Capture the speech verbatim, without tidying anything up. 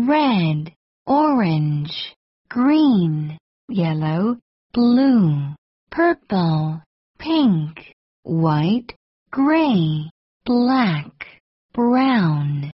red, orange, green, yellow, blue, purple, pink, white, gray, black, brown.